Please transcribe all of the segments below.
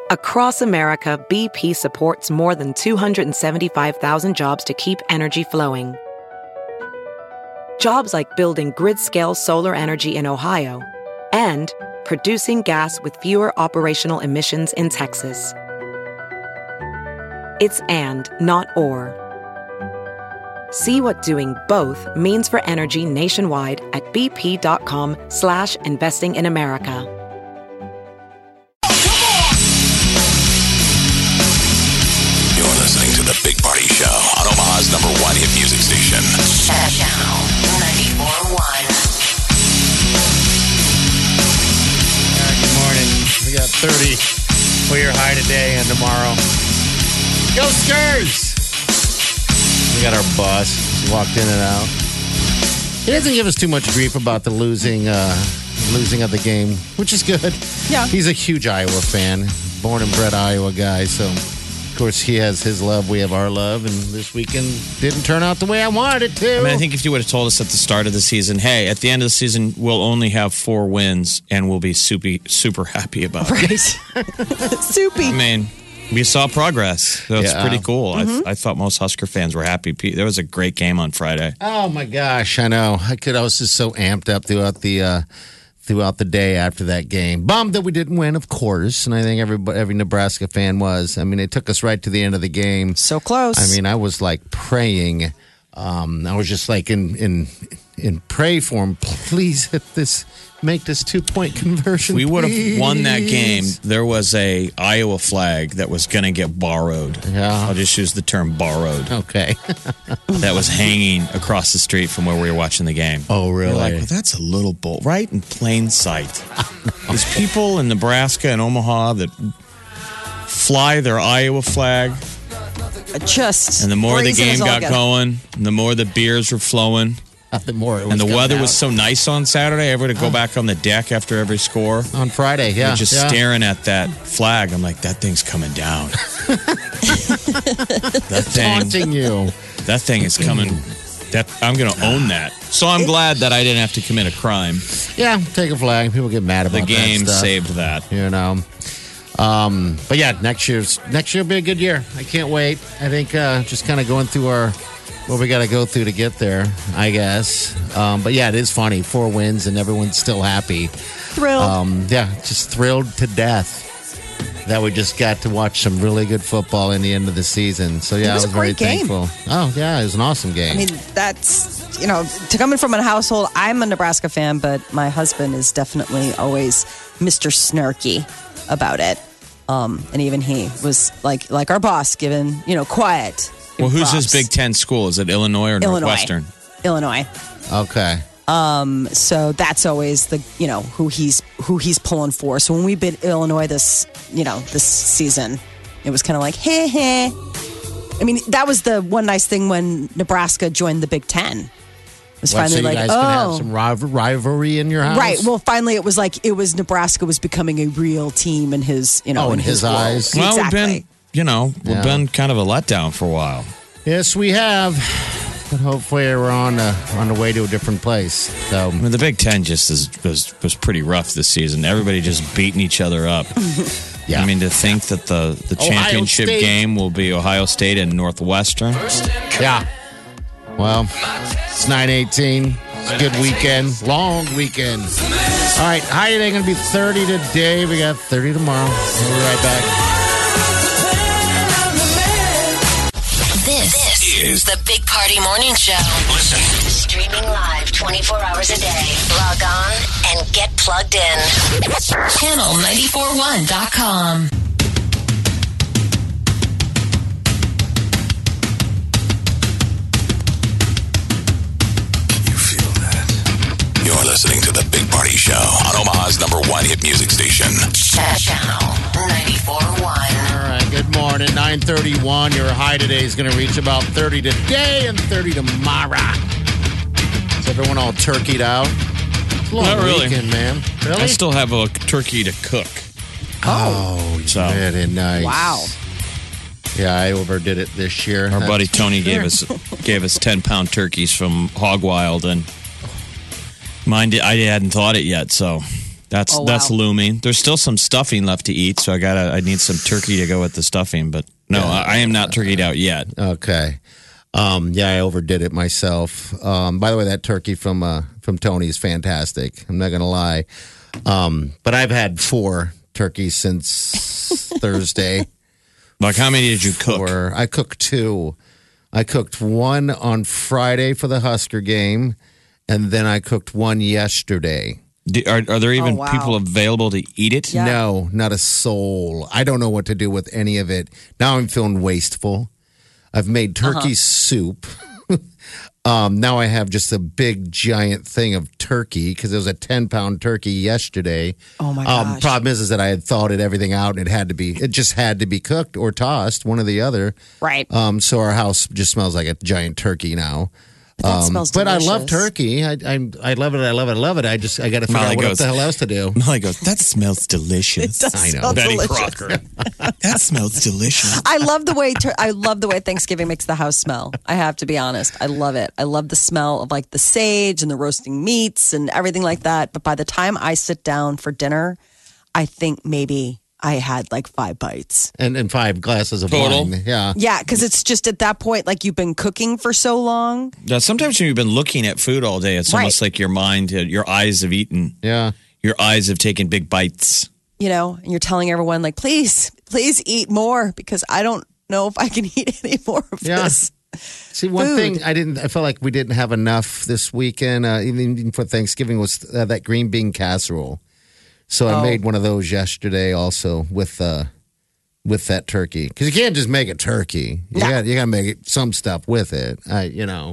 Across America, BP supports more than 275,000 jobs to keep energy flowing. Jobs like building grid-scale solar energy in Ohio and producing gas with fewer operational emissions in Texas. It's and, not or. See what doing both means for energy nationwide at bp.com/investing in America. You're listening to The Big Party Show on Omaha's #1 hit music station. Channel 94.1. Good morning. We got 30 for your high today and tomorrow. Go Skurs! We got our bus. Just walked in and out. He doesn't give us too much grief about the losing of the game, which is good. Yeah. He's a huge Iowa fan. Born and bred Iowa guy. So, of course, he has his love. We have our love. And this weekend didn't turn out the way I wanted it to. I mean, I think if you would have told us at the start of the season, hey, at the end of the season, we'll only have 4 wins and we'll be super happy about it. Right. Soupy. I mean, we saw progress. So it's Yeah. pretty cool. I thought most Husker fans were happy. There was a great game on Friday. Oh my gosh, I know. I was just so amped up throughout the day after that game. Bummed that we didn't win, of course, and I think every Nebraska fan was. I mean, it took us right to the end of the game. So close. I mean, I was like praying. I was just like in pray form. Please make this 2-point conversion. We would have please. won that game. There was a Iowa flag that was going to get borrowed. Yeah. I'll just use the term borrowed. Okay. That was hanging across the street from where we were watching the game. Oh, really? You're like, well, that's a little bold, right in plain sight. There's people in Nebraska and Omaha that fly their Iowa flag, Just. and the more the brazen game us all got together. going, the more the beers were flowing, Nothing more. and the weather was so nice on Saturday. Everybody would go back on the deck after every score. on Friday. Yeah, We're just staring at that flag. I'm like, that thing's coming down. taunting you. That thing is coming. I'm going to own that. So I'm glad that I didn't have to commit a crime. Yeah, take a flag. People get mad about The game that stuff. saved that. You know. But yeah, next year will be a good year. I can't wait. I think just kind of going through what we got to go through to get there, I guess. But yeah, it is funny. 4 wins and everyone's still happy. Thrilled. Yeah, just thrilled to death that we just got to watch some really good football in the end of the season. So yeah, It was I a was very great game. thankful. Oh yeah, it was an awesome game. I mean, that's, to coming from a household, I'm a Nebraska fan, but my husband is definitely always Mr. Snarky about it. And even he was like our boss, given, quiet. Well, who's props. his Big Ten school? Is it Illinois or Northwestern? Illinois. okay. So that's always the who he's pulling for. So when we beat Illinois this season, it was kind of like heh. I mean, that was the one nice thing when Nebraska joined the Big Ten. It was So finally you like, guys can have some rivalry in your house, right. Well, finally, it was Nebraska was becoming a real team in his in his world. eyes. Well, Exactly. we've been kind of a letdown for a while. Yes, we have. But hopefully we're on the way to a different place. So I mean, the Big Ten just was pretty rough this season. Everybody just beating each other up. yeah, I mean, to think that the championship State. game will be Ohio State and Northwestern. yeah. Well, it's 9/18. It's a good weekend, long weekend. All right, high today going to be 30 today. We got 30 tomorrow. We'll be right back. This is the Big Party Morning Show. Listen. Streaming live 24 hours a day. Log on and get plugged in. Channel941.com. You feel that? You're listening to The Big Party Show on Omaha's #1 hit music station. Channel 94.1. All right, good morning. 9:31. Your high today is going to reach about 30 today and 30 tomorrow. Is everyone all turkeyed out? It's a long Not really. weekend, man. Really? I still have a turkey to cook. Oh, So- very nice. Wow. Yeah, I overdid it this year. Our That's buddy for Tony sure. gave us 10-pound turkeys from Hog Wild, and mine I hadn't thought it yet, so That's looming. There's still some stuffing left to eat, so I need some turkey to go with the stuffing. But no, I am not turkeyed out yet. Okay. I overdid it myself. By the way, that turkey from Tony is fantastic. I'm not gonna lie. But I've had 4 turkeys since Thursday. Like, how many did you cook? I cooked 2. I cooked 1 on Friday for the Husker game, and then I cooked 1 yesterday. Are there even people available to eat it? Yeah. No, not a soul. I don't know what to do with any of it. Now I'm feeling wasteful. I've made turkey soup. Now I have just a big, giant thing of turkey because it was a 10-pound turkey yesterday. Oh, my gosh. Problem is that I had thawed everything out and it just had to be cooked or tossed, one or the other. Right. So our house just smells like a giant turkey now. That smells but delicious. I love turkey. I love it. I love it. I love it. I got to figure out what the hell else to do. Molly goes, that smells delicious. It does I know. smell Betty delicious. Crocker. That smells delicious. I love the way Thanksgiving makes the house smell. I have to be honest. I love it. I love the smell of like the sage and the roasting meats and everything like that. But by the time I sit down for dinner, I think maybe I had like 5 bites. And 5 glasses of Total? wine. Yeah. Yeah, because it's just at that point, like you've been cooking for so long. Now, sometimes when you've been looking at food all day, it's almost like your mind, your eyes have eaten. Yeah. Your eyes have taken big bites. You know, and you're telling everyone like, please eat more because I don't know if I can eat any more of this. See, one Food. thing I felt like we didn't have enough this weekend, even for Thanksgiving, was that green bean casserole. So I made one of those yesterday also with that turkey because you can't just make a turkey. You got to make some stuff with it. But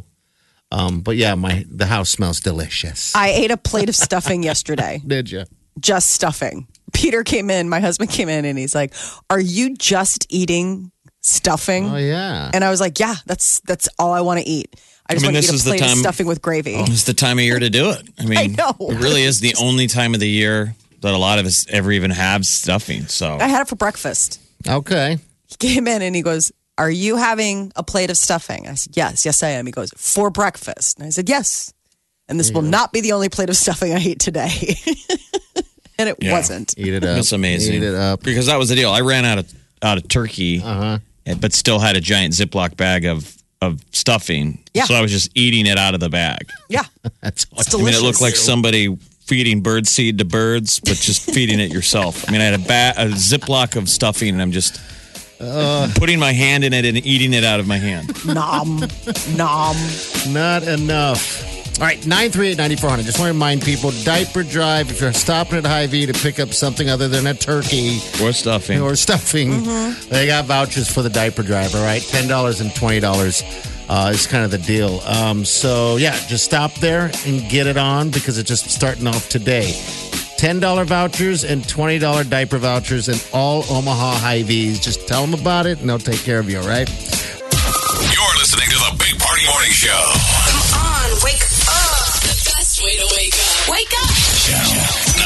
yeah, the house smells delicious. I ate a plate of stuffing yesterday. Did you? Just stuffing. Peter came in, my husband came in, and he's like, "Are you just eating stuffing?" Oh yeah. And I was like, "Yeah, that's all I want to eat. I just want to this eat is a the plate of time- stuffing with gravy." It's the time of year to do it. I mean, I know. It really is the only time of the year that a lot of us ever even have stuffing. So I had it for breakfast. Okay. He came in and he goes, "Are you having a plate of stuffing?" I said, yes, I am. He goes, "For breakfast?" And I said, "Yes. And this will not be the only plate of stuffing I eat today." And it wasn't. Eat it up. it's amazing. Eat it up. Because that was the deal. I ran out of turkey, but still had a giant Ziploc bag of stuffing. Yeah. So I was just eating it out of the bag. Yeah. That's It's I mean, delicious. it looked like somebody feeding bird seed to birds, but just feeding it yourself. I mean, I had a Ziploc of stuffing, and I'm just putting my hand in it and eating it out of my hand. Nom. Nom. not enough. All right, 938-9400. Just want to remind people, diaper drive, if you're stopping at Hy-Vee to pick up something other than a turkey Or stuffing. or stuffing, they got vouchers for the diaper drive, all right? $10 and $20 is kind of the deal. So, yeah, just stop there and get it on because it's just starting off today. $10 vouchers and $20 diaper vouchers in all Omaha Hy-Vees. Just tell them about it and they'll take care of you, all right? You're listening to the Big Party Morning Show. Come on, wake up. The best way to wake up. Wake up. Channel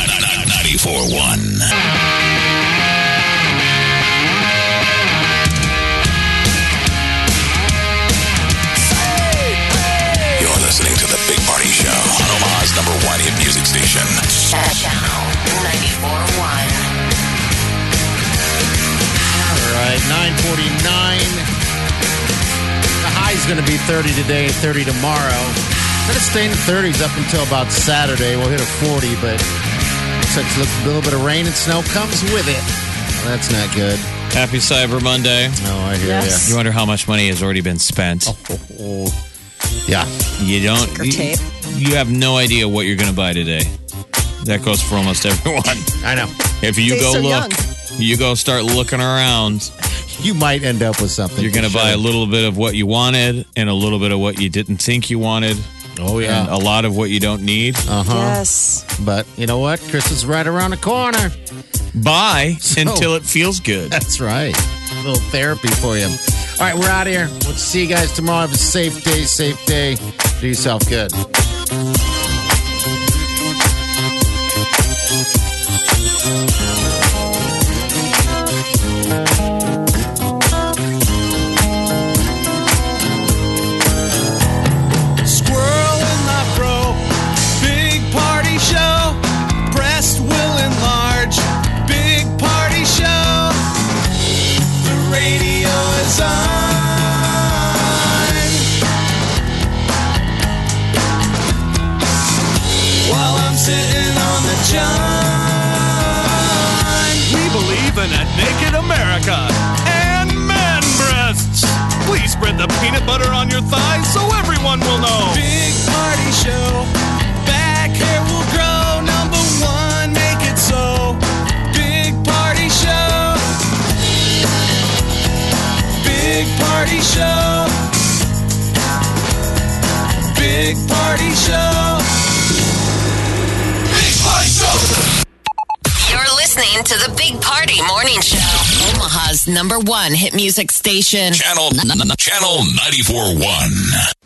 94.1. You're listening to the Big Party Show on Omaha's #1 hit music station. Channel 94.1. All right, 9:49. The high's going to be 30 today, 30 tomorrow. Going to stay in the 30s up until about Saturday. We'll hit a 40, but looks like a little bit of rain and snow comes with it. Well, that's not good. Happy Cyber Monday. Oh, I hear Yes. You wonder how much money has already been spent. you. Yeah. You don't. Ticker tape. You have no idea what you're going to buy today. That goes for almost everyone. I know. If you Stay go so look, you go start looking around. You might end up with something. You're going to buy a little bit of what you wanted and a little bit of what you didn't think you wanted. Oh, And yeah. a lot of what you don't need. Yes. But you know what? Christmas is right around the corner. Buy until it feels good. That's right. A little therapy for you. All right, we're out of here. We'll see you guys tomorrow. Have a safe day, safe day. Do yourself good. Squirrel in my bro, big party show, breast will nothing at Naked America. And man breasts. Please spread the peanut butter on your thighs so everyone will know. Big party show. Back hair will grow. Number one, make it so. Big party show. Big party show. Big party show. Big party show. You're listening to the Big Party Morning Show. Omaha's #1 hit music station. Channel 94.1.